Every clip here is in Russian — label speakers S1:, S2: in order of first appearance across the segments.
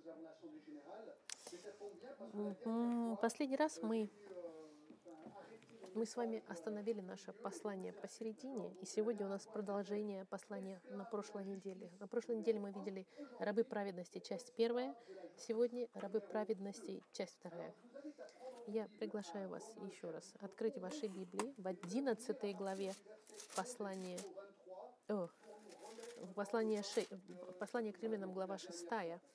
S1: Последний раз мы с вами остановили наше послание посередине, и сегодня у нас продолжение послания на прошлой неделе. На прошлой неделе мы видели рабы праведности, часть первая, сегодня рабы праведности, часть вторая. Я приглашаю вас еще раз открыть ваши Библии в 11 главе послания, послание к римлянам, глава 6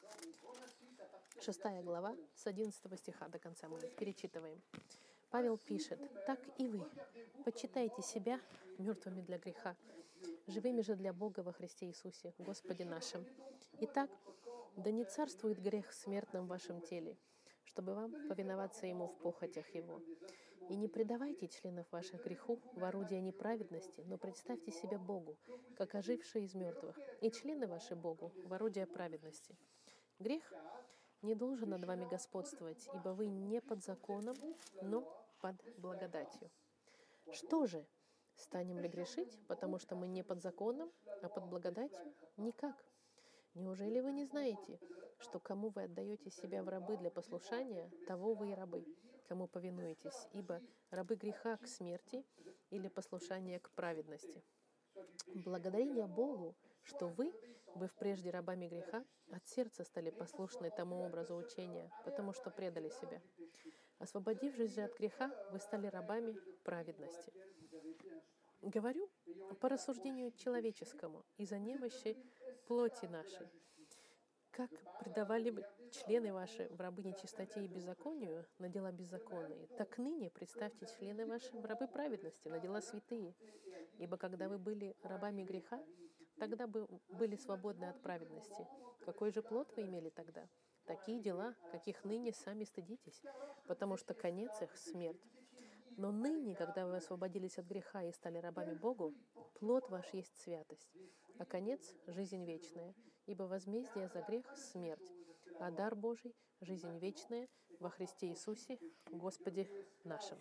S1: глава, с 11 стиха до конца мы перечитываем. Павел пишет: «Так и вы, почитайте себя мертвыми для греха, живыми же для Бога во Христе Иисусе, Господе нашим. Итак, да не царствует грех в смертном вашем теле, чтобы вам повиноваться Ему в похотях Его. И не предавайте членов ваших греху в орудие неправедности, но представьте себя Богу, как ожившие из мертвых, и члены ваши Богу в орудие праведности. Грех не должен над вами господствовать, ибо вы не под законом, но под благодатью. Что же, станем ли грешить, потому что мы не под законом, а под благодатью? Никак. Неужели вы не знаете, что кому вы отдаете себя в рабы для послушания, того вы и рабы, кому повинуетесь, ибо рабы греха к смерти или послушание к праведности? Благодарение Богу, что вы, быв прежде рабами греха, от сердца стали послушны тому образу учения, потому что предали себя. Освободившись же от греха, вы стали рабами праведности. Говорю по рассуждению человеческому из-за немощи плоти нашей. Как предавали вы члены ваши в рабы нечистоте и беззаконию на дела беззаконные, так ныне представьте члены ваши в рабы праведности на дела святые. Ибо когда вы были рабами греха, тогда бы были свободны от праведности. Какой же плод вы имели тогда? Такие дела, каких ныне сами стыдитесь, потому что конец их — смерть. Но ныне, когда вы освободились от греха и стали рабами Богу, плод ваш есть святость, а конец — жизнь вечная. Ибо возмездие за грех — смерть, а дар Божий — жизнь вечная во Христе Иисусе, Господе нашим».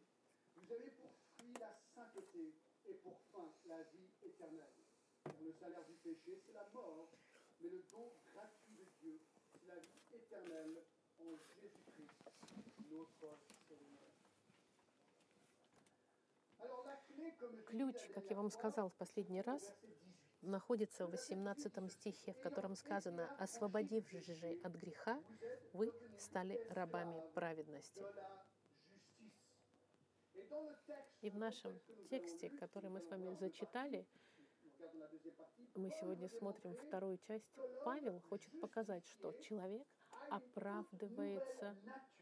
S1: Ключ, как я вам сказал в последний раз, находится в 18 стихе, в котором сказано: «Освободившись же от греха, вы стали рабами праведности». И в нашем тексте, который мы с вами зачитали, мы сегодня смотрим вторую часть, Павел хочет показать, что человек оправдывается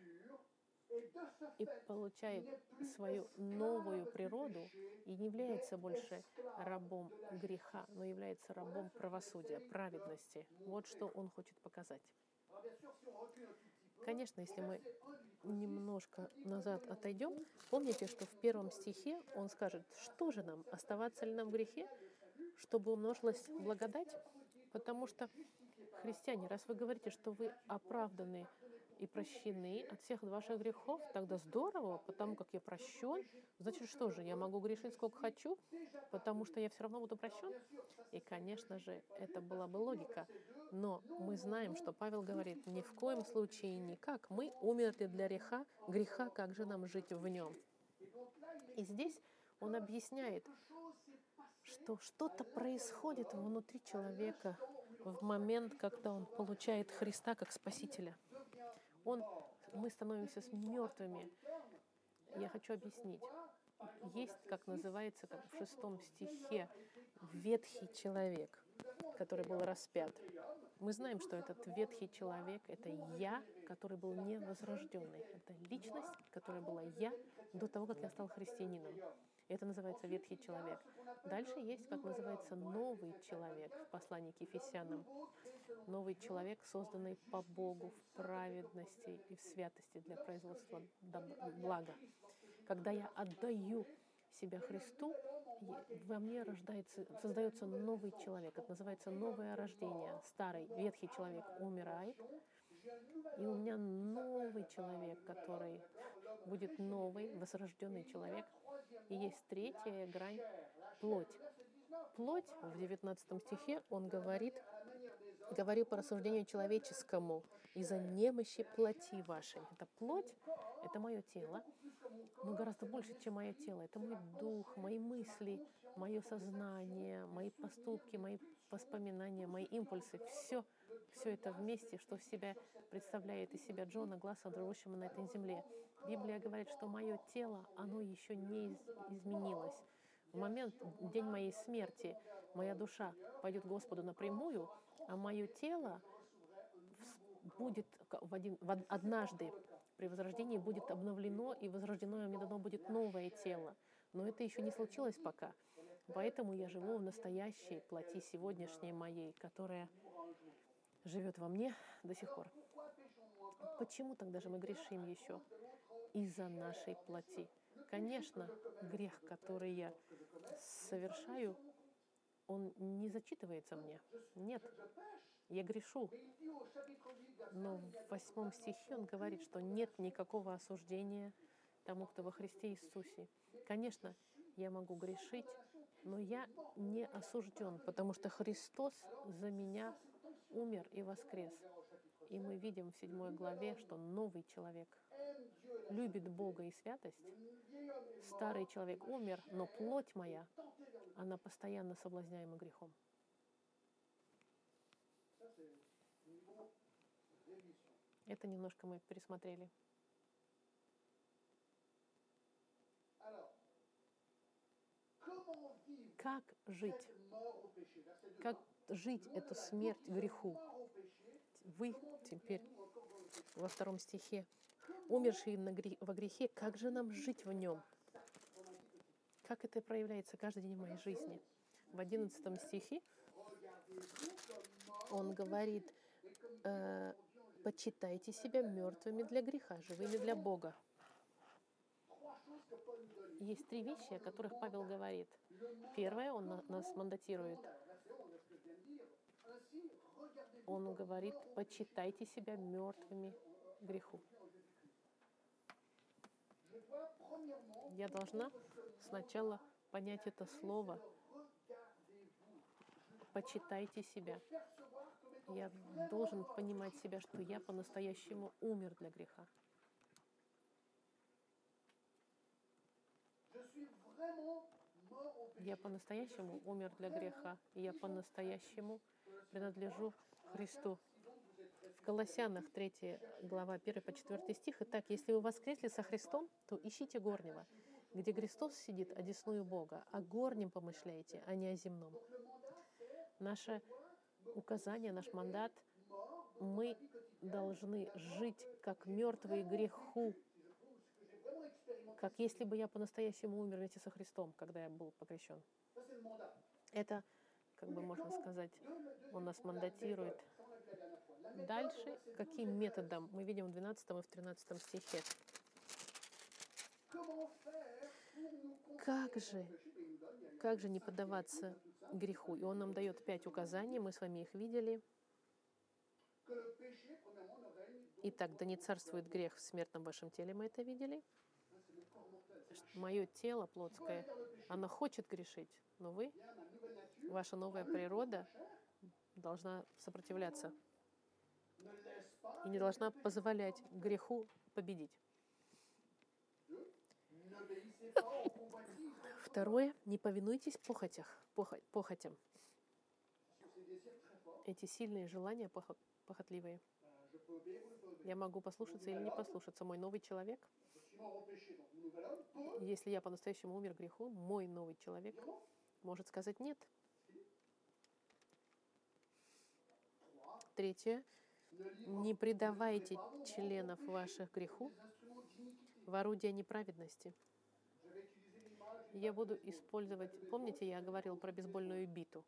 S1: и получает свою новую природу и не является больше рабом греха, но является рабом правосудия, праведности. Вот что он хочет показать. Конечно, если мы немножко назад отойдем, помните, что в первом стихе он скажет: что же нам, оставаться ли нам в грехе, чтобы умножилась благодать? Потому что, христиане, раз вы говорите, что вы оправданы и прощены от всех ваших грехов, тогда здорово, потому как я прощен. Значит, что же, я могу грешить сколько хочу, потому что я все равно буду прощен? И, конечно же, это была бы логика. Но мы знаем, что Павел говорит: ни в коем случае никак. Мы умерли для греха, как же нам жить в нем? И здесь он объясняет, что что-то происходит внутри человека в момент, когда он получает Христа как Спасителя. Мы становимся мертвыми. Я хочу объяснить. Есть, как называется, как в 6 стихе, ветхий человек, который был распят. Мы знаем, что этот ветхий человек — это я, который был невозрожденный. Это личность, которая была я до того, как я стал христианином. Это называется ветхий человек. Дальше есть, как называется, новый человек в послании к Ефесянам. Новый человек, созданный по Богу в праведности и в святости для производства блага. Когда я отдаю себя Христу, во мне создается новый человек. Это называется новое рождение. Старый, ветхий человек умирает, и у меня новый человек, который будет новый, возрожденный человек. И есть третья грань — плоть. Плоть в 19 стихе, он говорит: Говорю по рассуждению человеческому, из-за немощи плоти вашей. Это плоть, это мое тело, но гораздо больше, чем мое тело. Это мой дух, мои мысли, мое сознание, мои поступки, мои воспоминания, мои импульсы. Все это вместе, что в себя представляет из себя Джона Гласса, живущего на этой земле. Библия говорит, что мое тело, оно еще не изменилось. В момент, день моей смерти, моя душа пойдет к Господу напрямую, а мое тело будет однажды при возрождении будет обновлено, и возрождено мне дано будет новое тело. Но это еще не случилось пока. Поэтому я живу в настоящей плоти сегодняшней моей, которая живет во мне до сих пор. Почему тогда же мы грешим еще? Из-за нашей плоти. Конечно, грех, который я совершаю, он не зачитывается мне. Нет, я грешу. Но в 8 стихе он говорит, что нет никакого осуждения тому, кто во Христе Иисусе. Конечно, я могу грешить, но я не осужден, потому что Христос за меня умер и воскрес. И мы видим в 7 главе, что новый человек любит Бога и святость. Старый человек умер, но плоть моя, она постоянно соблазняема грехом. Это немножко мы пересмотрели. Как жить? Как жить эту смерть греху? Вы теперь во 2 стихе, умершие во грехе, как же нам жить в нем? Как это проявляется каждый день в моей жизни? В 11 стихе он говорит, почитайте себя мертвыми для греха, живыми для Бога. Есть 3 вещи, о которых Павел говорит. Первое, он нас мандатирует. Он говорит, почитайте себя мертвыми греху. Я должна сначала понять это слово. Почитайте себя. Я должен понимать себя, что я по-настоящему умер для греха. Я по-настоящему умер для греха, и я по-настоящему принадлежу Христу. В Колоссянах 3 глава 1 по 4 стих. Итак, если вы воскресли со Христом, то ищите горнего, где Христос сидит одесную Бога, о горнем помышляйте, а не о земном. Наше указание, наш мандат, мы должны жить как мертвые греху, как если бы я по-настоящему умер вместе со Христом, когда я был покрещен. Это, как бы можно сказать, он нас мандатирует. Дальше, каким методом? Мы видим в 12 и в 13 стихе. Как же не поддаваться греху? И он нам дает 5 указаний, мы с вами их видели. Итак, да не царствует грех в смертном вашем теле, мы это видели. Мое тело плотское, оно хочет грешить, но вы, ваша новая природа, должна сопротивляться и не должна позволять греху победить. Второе, не повинуйтесь похотям. Эти сильные желания похотливые. Я могу послушаться или не послушаться. Мой новый человек, если я по-настоящему умер греху, мой новый человек может сказать «нет». Третье, не предавайте членов ваших греху в орудие неправедности. Я буду использовать... Помните, я говорил про бейсбольную биту?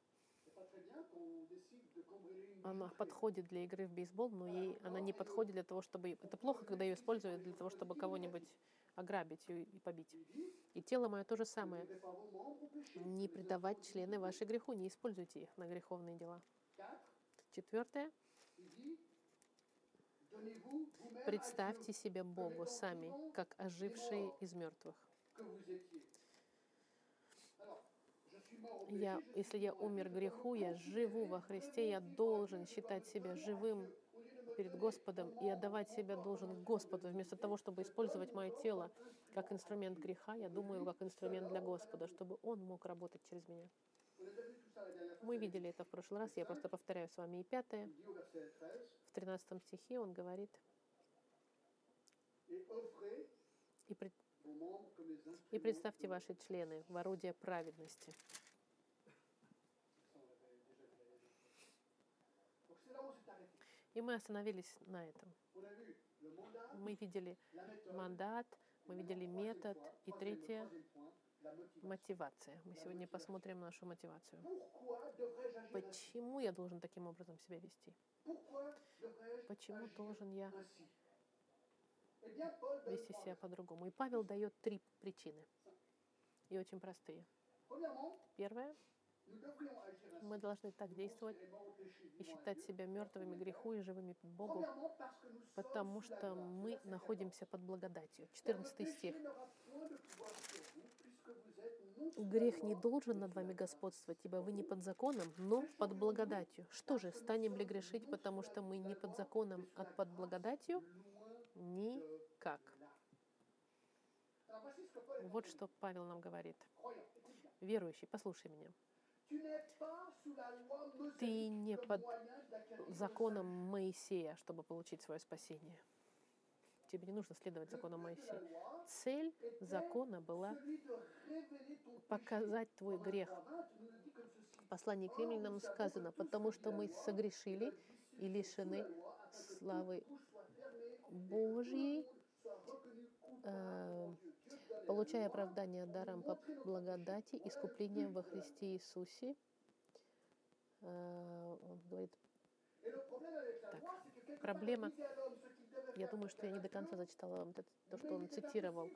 S1: Она подходит для игры в бейсбол, но она не подходит для того, чтобы... Это плохо, когда ее используют для того, чтобы кого-нибудь ограбить и побить. И тело мое то же самое. Не предавать члены вашей греху, не используйте их на греховные дела. 4. Представьте себя Богу сами, как ожившие из мертвых. Если я умер греху, я живу во Христе, я должен считать себя живым перед Господом и отдавать себя должен Господу. Вместо того, чтобы использовать мое тело как инструмент греха, я думаю, как инструмент для Господа, чтобы Он мог работать через меня. Мы видели это в прошлый раз, я просто повторяю с вами. И 5, в 13 стихе он говорит: «И представьте ваши члены в орудие праведности». И мы остановились на этом. Мы видели мандат, мы видели метод. И 3, мотивация. Мы сегодня посмотрим нашу мотивацию. Почему я должен таким образом себя вести? Почему должен я вести себя по-другому? И Павел дает 3 причины. И очень простые. Первое. Мы должны так действовать и считать себя мертвыми греху и живыми Богу, потому что мы находимся под благодатью. 14 стих. «Грех не должен над вами господствовать, ибо вы не под законом, но под благодатью». Что же, станем ли грешить, потому что мы не под законом, а под благодатью? Никак. Вот что Павел нам говорит. Верующий, послушай меня. Ты не под законом Моисея, чтобы получить свое спасение. Тебе не нужно следовать закону Моисея. Цель закона была показать твой грех. В послании к Римлянам сказано: «Потому что мы согрешили и лишены славы Божьей, получая оправдание даром по благодати, искуплением во Христе Иисусе». Он говорит, так, проблема, я думаю, что я не до конца зачитала вам то, что он цитировал.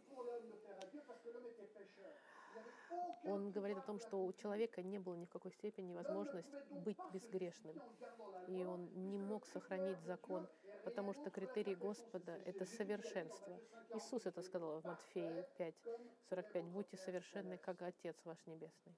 S1: Он говорит о том, что у человека не было ни в какой степени возможности быть безгрешным. И он не мог сохранить закон, потому что критерий Господа — это совершенство. Иисус это сказал в Матфея 5:45. «Будьте совершенны, как Отец ваш Небесный».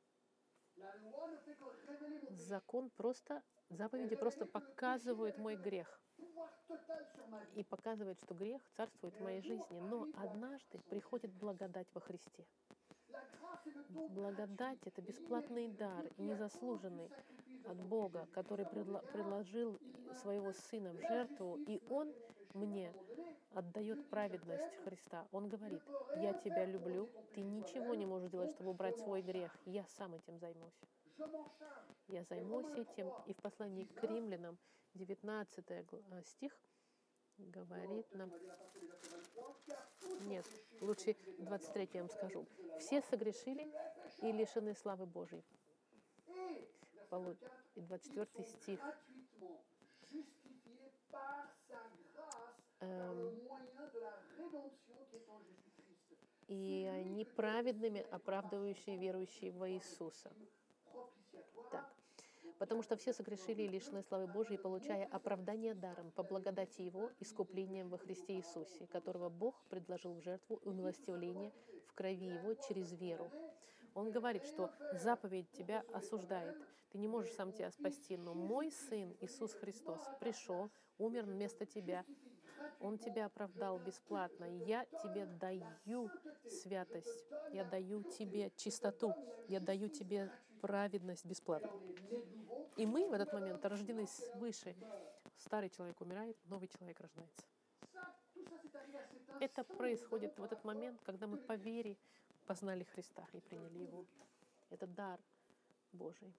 S1: Заповеди просто показывают мой грех. И показывают, что грех царствует в моей жизни. Но однажды приходит благодать во Христе. Благодать — это бесплатный дар, незаслуженный от Бога, который предложил своего Сына в жертву, и Он мне отдает праведность Христа. Он говорит: «Я тебя люблю, ты ничего не можешь делать, чтобы убрать свой грех, я сам этим займусь». Я займусь этим. И в послании к Римлянам, 19 стих, говорит нам... Нет, лучше 23 я вам скажу. «Все согрешили и лишены славы Божьей». И 24 стих. «И они праведными, оправдывающие верующие во Иисуса». Так. «Потому что все согрешили и лишены славы Божией, получая оправдание даром по благодати Его, искуплением во Христе Иисусе, которого Бог предложил в жертву и умилостивление в крови Его через веру». Он говорит, что заповедь тебя осуждает. Ты не можешь сам тебя спасти, но мой Сын Иисус Христос пришел, умер вместо тебя. Он тебя оправдал бесплатно. Я тебе даю святость, я даю тебе чистоту, я даю тебе праведность бесплатно. И мы в этот момент рождены свыше. Старый человек умирает, новый человек рождается. Это происходит в этот момент, когда мы по вере познали Христа и приняли Его. Это дар Божий.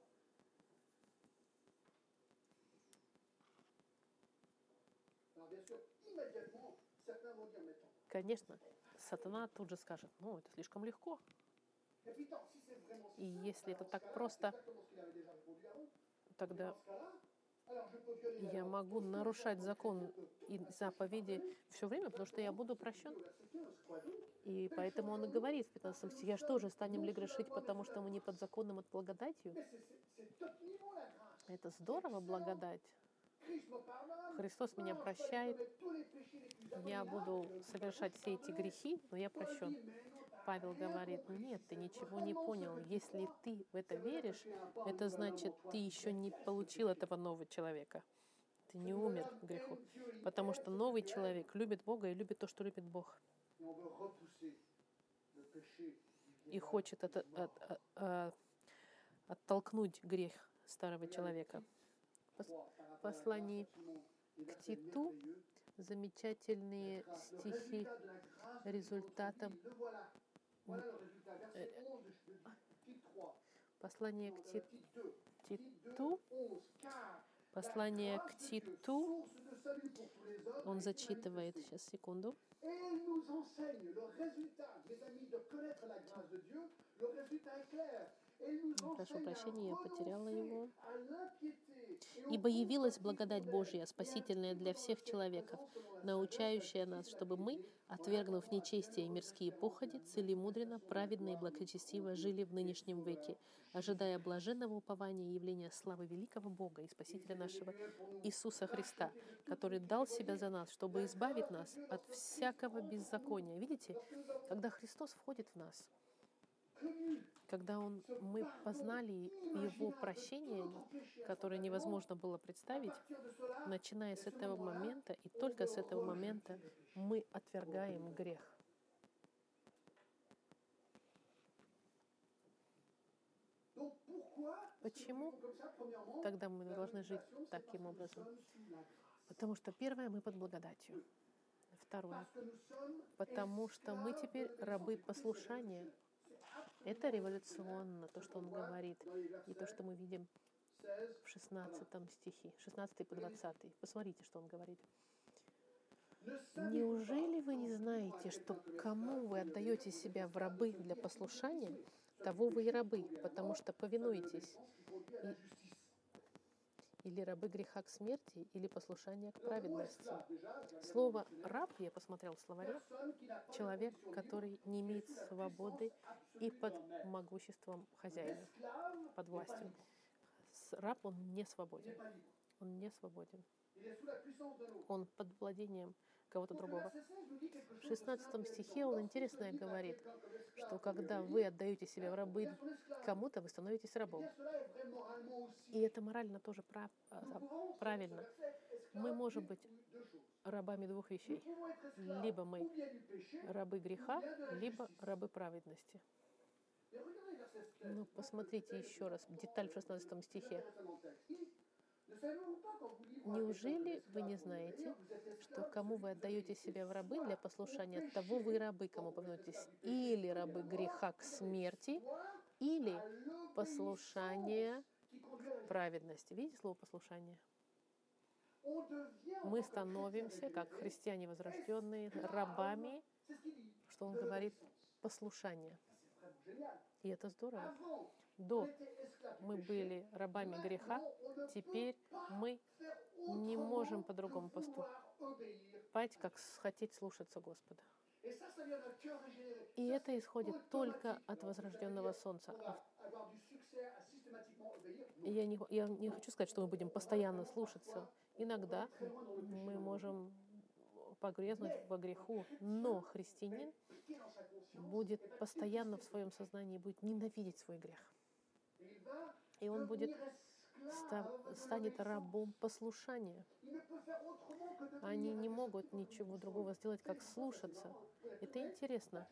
S1: Конечно, сатана тут же скажет: «Ну, это слишком легко». И если это так просто, тогда я могу нарушать закон и заповеди все время, потому что я буду прощен. И поэтому он и говорит в 15 стихе: «Я что же, станем ли грешить, потому что мы не под законом, а благодатью?» Это здорово, благодать. Христос меня прощает. Я буду совершать все эти грехи, но я прощен. Павел говорит, нет, ты ничего не понял. Если ты в это веришь, это значит, ты еще не получил этого нового человека. Ты не умер в греху. Потому что новый человек любит Бога и любит то, что любит Бог. И хочет оттолкнуть грех старого человека. В послании к Титу замечательные стихи результатом послание к Титу, он зачитывает, сейчас, секунду. Прошу прощения, я потеряла его. «Ибо явилась благодать Божья, спасительная для всех человеков, научающая нас, чтобы мы, отвергнув нечестие и мирские походи, целемудренно, праведно и благочестиво жили в нынешнем веке, ожидая блаженного упования и явления славы великого Бога и Спасителя нашего Иисуса Христа, который дал себя за нас, чтобы избавить нас от всякого беззакония». Видите, когда Христос входит в нас, когда мы познали Его прощение, которое невозможно было представить, начиная с этого момента, и только с этого момента мы отвергаем грех. Почему тогда мы должны жить таким образом? Потому что первое, мы под благодатью. Второе, потому что мы теперь рабы послушания. Это революционно, то, что он говорит, и то, что мы видим в 16 стихе, 16 по 20. Посмотрите, что он говорит. «Неужели вы не знаете, что кому вы отдаете себя в рабы для послушания, того вы и рабы, потому что повинуетесь, или рабы греха к смерти, или послушания к праведности». Слово «раб», я посмотрел в словаре, человек, который не имеет свободы и под могуществом хозяина, под властью. Раб, он не свободен. Он не свободен. Он под владением кого-то другого. В 16 стихе он интересное говорит, что когда вы отдаете себя в рабы кому-то, вы становитесь рабом. И это морально тоже правильно. Мы можем быть рабами двух вещей. Либо мы рабы греха, либо рабы праведности. Но посмотрите еще раз, деталь в 16 стихе. «Неужели вы не знаете, что кому вы отдаете себя в рабы для послушания, того вы рабы, кому повинуетесь, или рабы греха к смерти, или послушание к праведности». Видите слово «послушание»? Мы становимся, как христиане возрожденные, рабами, что он говорит, послушания. И это здорово. До мы были рабами греха, теперь мы не можем по-другому поступать, как хотеть слушаться Господа. И это исходит только от возрожденного солнца. Я не хочу сказать, что мы будем постоянно слушаться. Иногда мы можем погрязнуть во греху, но христианин будет постоянно в своем сознании будет ненавидеть свой грех. И он станет рабом послушания. Они не могут ничего другого сделать, как слушаться. Это интересно.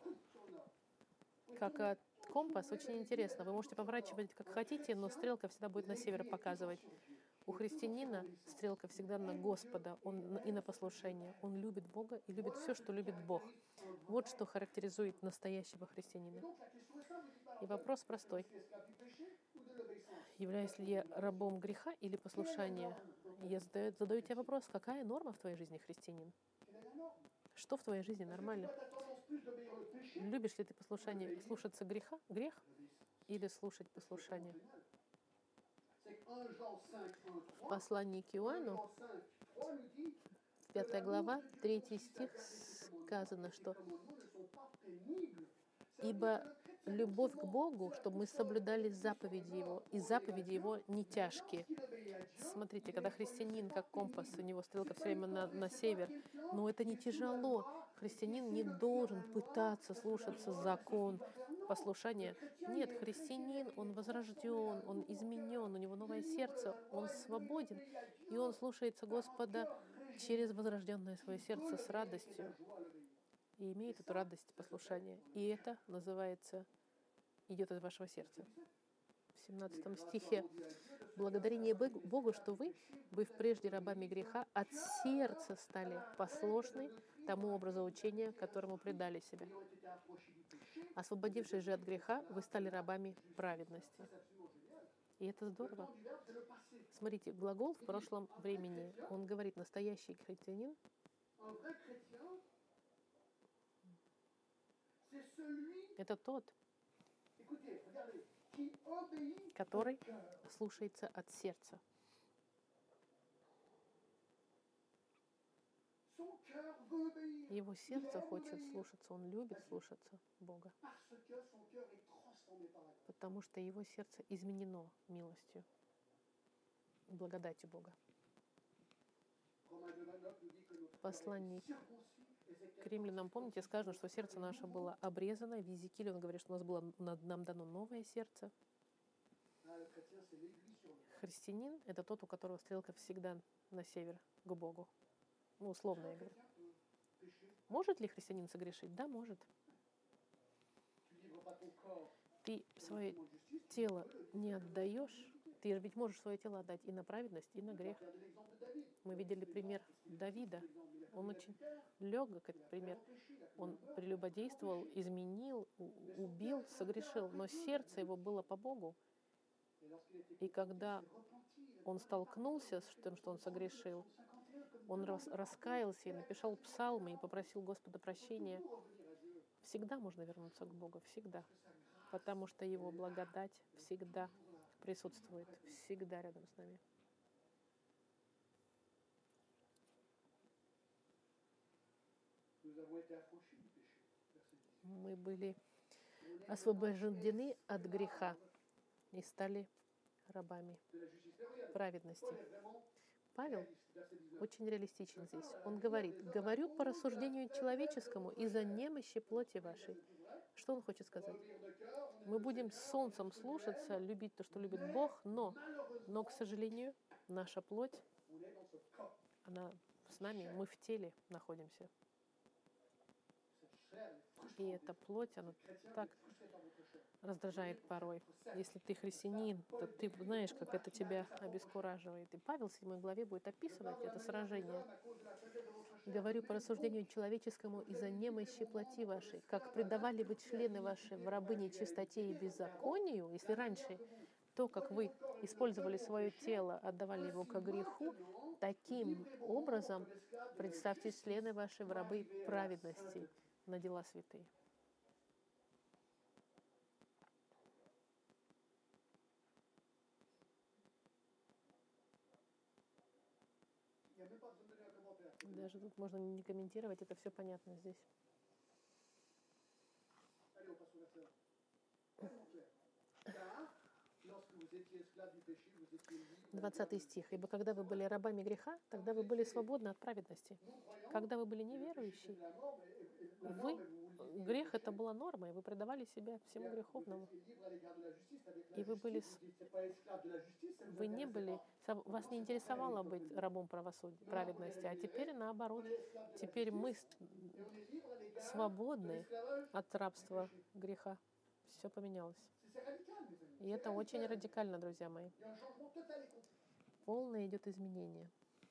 S1: Как компас, очень интересно. Вы можете поворачивать как хотите, но стрелка всегда будет на север показывать. У христианина стрелка всегда на Господа и на послушание. Он любит Бога и любит все, что любит Бог. Вот что характеризует настоящего христианина. И вопрос простой. Являюсь ли я рабом греха или послушания? Я задаю тебе вопрос, какая норма в твоей жизни, христианин? Что в твоей жизни нормально? Любишь ли ты слушаться грех или слушать послушание? В послании к Иоанну, 5 глава, 3 стих, сказано, что Ибо любовь к Богу, чтобы мы соблюдали заповеди Его, и заповеди Его не тяжкие. Смотрите, когда христианин, как компас, у него стрелка все время на север, но это не тяжело. Христианин не должен пытаться слушаться закон, послушания. Нет, христианин, он возрожден, он изменен, у него новое сердце, он свободен, и он слушается Господа через возрожденное свое сердце с радостью и имеет эту радость послушания. И это называется «идет из вашего сердца». В 17 стихе «Благодарение Богу, что вы, быв прежде рабами греха, от сердца стали послушны тому образу учения, которому предали себя. Освободившись же от греха, вы стали рабами праведности». И это здорово. Смотрите, глагол в прошлом времени, он говорит «настоящий христианин». Это тот, который слушается от сердца. Его сердце хочет слушаться, он любит слушаться Бога, потому что его сердце изменено милостью, благодатью Бога. В послании к римлянам, помните, сказано, что сердце наше было обрезано. В Иезекииле он говорит, что нам дано новое сердце. Христианин — это тот, у которого стрелка всегда на север, к Богу. Ну, условно я говорю. Может ли христианин согрешить? Да, может. Ты свое тело не отдаешь. Ты ведь можешь свое тело отдать и на праведность, и на грех. Мы видели пример Давида. Он очень легок, этот пример. Он прелюбодействовал, изменил, убил, согрешил, но сердце его было по Богу. И когда он столкнулся с тем, что он согрешил, он раскаялся и написал псалмы и попросил Господа прощения. Всегда можно вернуться к Богу, всегда. Потому что Его благодать всегда присутствует, всегда рядом с нами. Мы были освобождены от греха и стали рабами праведности. Павел очень реалистичен здесь. Он говорит: «Говорю по рассуждению человеческому из-за немощи плоти вашей». Что он хочет сказать? Мы будем с солнцем слушаться, любить то, что любит Бог, но, к сожалению, наша плоть, она с нами, мы в теле находимся. И эта плоть, она так раздражает порой. Если ты христианин, то ты знаешь, как это тебя обескураживает. И Павел в 7 главе будет описывать это сражение. «Говорю по рассуждению человеческому из-за немощи плоти вашей, как предавали вы члены ваши в рабы нечистоте и беззаконию». Если раньше то, как вы использовали свое тело, отдавали его ко греху, таким образом представьте члены ваши в рабы праведности на дела святые. Даже тут можно не комментировать, это все понятно здесь. 20 стих. «Ибо когда вы были рабами греха, тогда вы были свободны от праведности. Когда вы были неверующие, грех это была норма, и вы предавали себя всему греховному. И вас не интересовало быть рабом праведности, а теперь наоборот. Теперь мы свободны от рабства греха. Все поменялось. И это очень радикально, друзья мои. Полное идет изменение.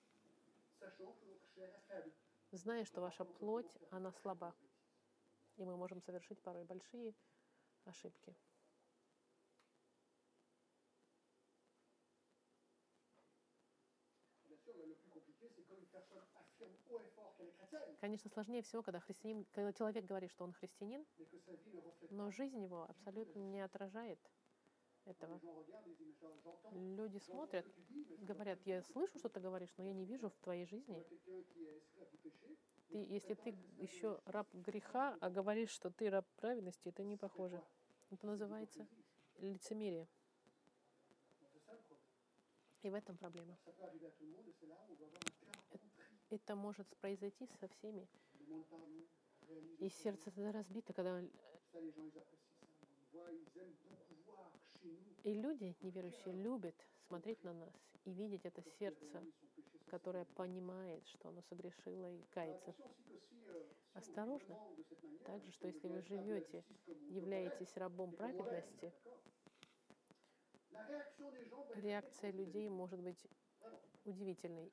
S1: Зная, что ваша плоть, она слаба. И мы можем совершить порой большие ошибки. Конечно, сложнее всего, когда человек говорит, что он христианин, но жизнь его абсолютно не отражает этого. Люди смотрят, говорят, я слышу, что ты говоришь, но я не вижу в твоей жизни. Если ты еще раб греха, а говоришь, что ты раб праведности, это не похоже. Это называется лицемерие. И в этом проблема. Это может произойти со всеми. И сердце тогда разбито, когда... И люди, неверующие, любят смотреть на нас и видеть это сердце, которое понимает, что оно согрешило и кается. Осторожно. Также, что если вы живете, являетесь рабом праведности, реакция людей может быть удивительной.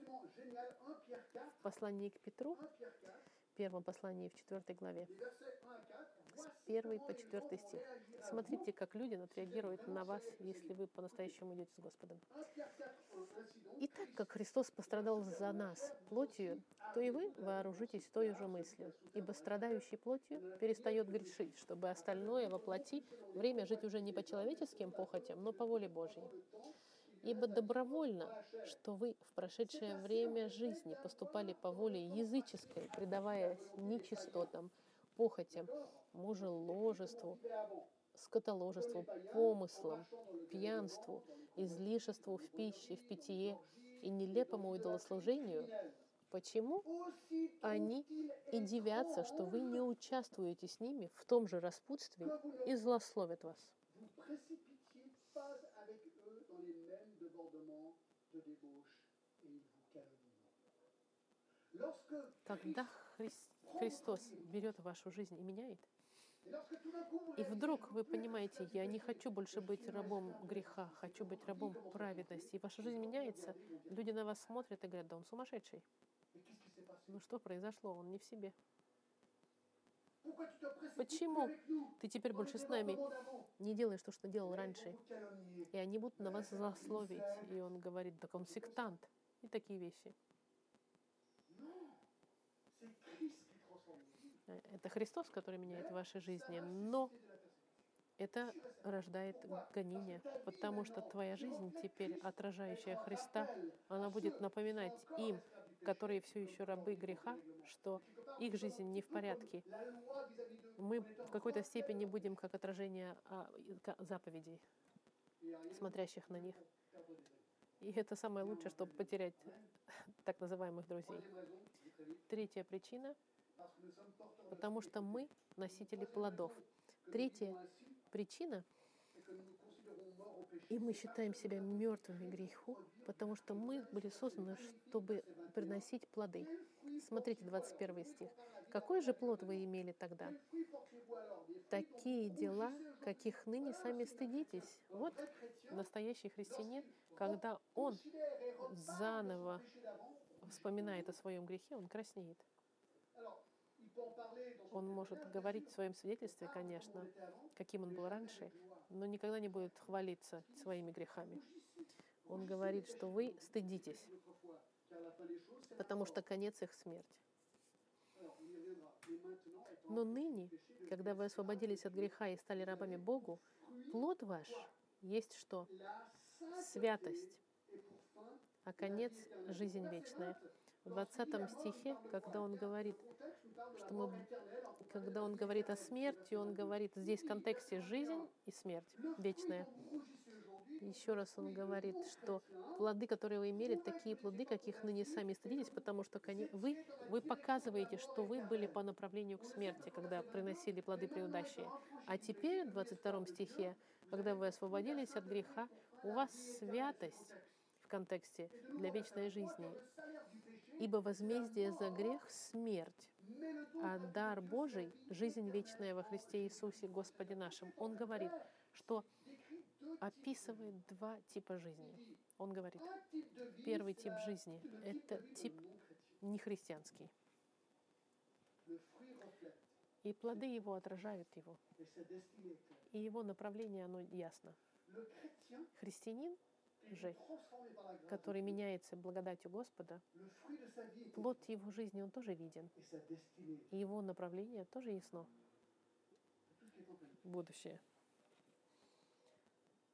S1: В послании к Петру, в первом послании в 4 главе, с 1 по 4 стих. Смотрите, как люди отреагируют на вас, если вы по-настоящему идете с Господом. И так как Христос пострадал за нас плотью, то и вы вооружитесь той же мыслью. Ибо страдающий плотью перестает грешить, чтобы остальное во плоти время жить уже не по человеческим похотям, но по воле Божьей. Ибо добровольно, что вы в прошедшее время жизни поступали по воле языческой, предаваясь нечистотам, похотям, мужеложеству, скотоложеству, помыслам, пьянству, излишеству в пище, в питье и нелепому идолослужению. Почему они и дивятся, что вы не участвуете с ними в том же распутстве и злословят вас? Когда Христос берет вашу жизнь и меняет, и вдруг вы понимаете, я не хочу больше быть рабом греха, хочу быть рабом праведности, и ваша жизнь меняется, люди на вас смотрят и говорят, да он сумасшедший. Ну что произошло? Он не в себе. Почему ты теперь больше с нами не делаешь то, что делал раньше? И они будут на вас злословить. И он говорит, так он сектант. И такие вещи. Это Христос, который меняет ваши жизни. Но это рождает гонение, потому что твоя жизнь теперь, отражающая Христа, она будет напоминать им, которые все еще рабы греха, что их жизнь не в порядке. Мы в какой-то степени будем как отражение заповедей, смотрящих на них. И это самое лучшее, чтобы потерять так называемых друзей. Третья причина, потому что мы носители плодов. Третья причина, и мы считаем себя мертвыми греху, потому что мы были созданы, чтобы приносить плоды. Смотрите, 21 стих. «Какой же плод вы имели тогда? Такие дела, каких ныне сами стыдитесь». Вот настоящий христианин, когда он заново вспоминает о своем грехе, он краснеет. Он может говорить в своем свидетельстве, конечно, каким он был раньше, но никогда не будет хвалиться своими грехами. Он говорит, что вы стыдитесь, потому что конец их — смерть. Но ныне, когда вы освободились от греха и стали рабами Богу, плод ваш есть что? Святость, а конец — жизнь вечная. В 20 стихе, когда он говорит о смерти, он говорит здесь в контексте жизнь и смерть вечная. Еще раз он говорит, что плоды, которые вы имели, такие плоды, каких ныне сами стыдитесь, потому что вы показываете, что вы были по направлению к смерти, когда приносили плоды преудащие. А теперь, в 22 стихе, когда вы освободились от греха, у вас святость в контексте для вечной жизни. Ибо возмездие за грех — смерть, а дар Божий — жизнь вечная во Христе Иисусе, Господе нашим. Он говорит, что описывает два типа жизни. Он говорит, первый тип жизни — это тип нехристианский. И плоды его отражают его. И его направление, оно ясно. Христианин же, который меняется благодатью Господа, плод его жизни, он тоже виден. И его направление тоже ясно. Будущее.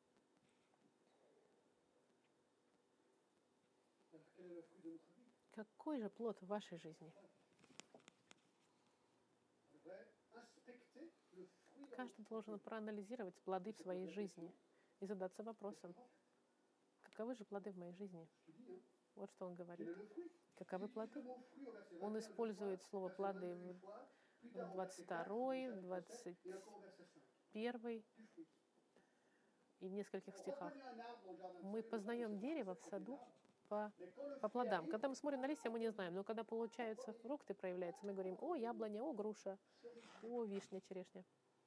S1: Какой же плод в вашей жизни? Каждый должен проанализировать плоды в своей жизни и задаться вопросом, каковы же плоды в моей жизни? Вот что он говорит. Каковы плоды? Он использует слово «плоды» в 22, 21 и в нескольких стихах. Мы познаем дерево в саду по плодам. Когда мы смотрим на листья, мы не знаем, но когда получаются фрукты, проявляются, мы говорим: о, яблоня, о, груша, о, вишня, черешня.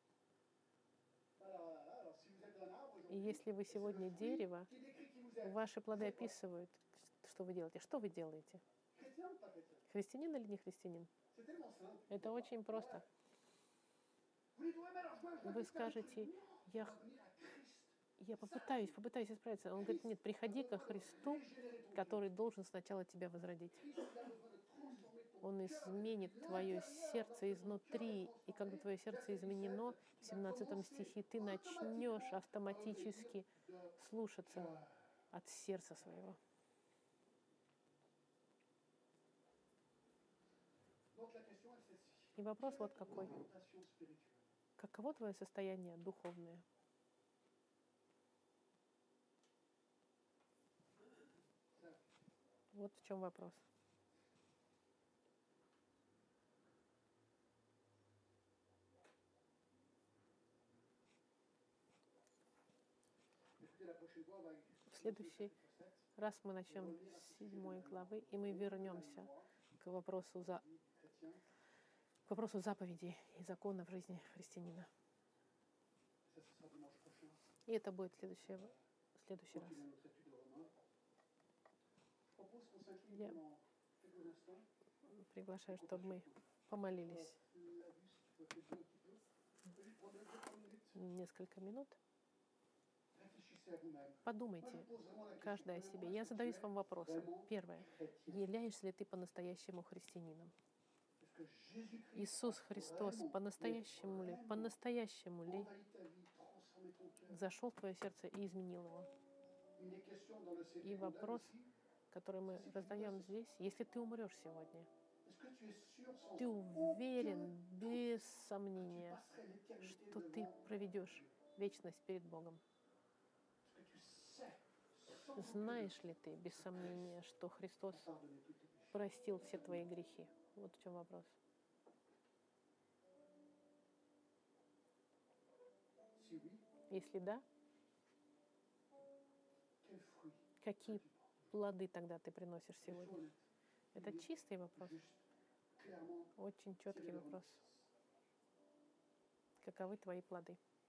S1: И если вы сегодня дерево, ваши плоды описывают, что вы делаете. Что вы делаете? Христианин или не христианин? Это очень просто. Вы скажете: я попытаюсь исправиться. Он говорит: нет, приходи ко Христу, который должен сначала тебя возродить. Он изменит твое сердце изнутри. И когда твое сердце изменено, в 17 стихе ты начнешь автоматически слушаться от сердца своего. И вопрос вот какой. Каково твое состояние духовное? Вот в чем вопрос. В следующий раз мы начнем с 7 главы, и мы вернемся к вопросу заповедей и закона в жизни христианина. И это будет в следующий раз. Я приглашаю, чтобы мы помолились несколько минут. Подумайте, каждый о себе. Я задаюсь вам вопросом. Первое. Являешься ли ты по-настоящему христианином? Иисус Христос по-настоящему ли зашел в твое сердце и изменил его? И вопрос, который мы раздаем здесь: если ты умрешь сегодня, ты уверен, без сомнения, что ты проведешь вечность перед Богом? Знаешь ли ты, без сомнения, что Христос простил все твои грехи? Вот в чем вопрос. Если да, какие плоды тогда ты приносишь сегодня? Это чистый вопрос. Очень четкий вопрос. Каковы твои плоды?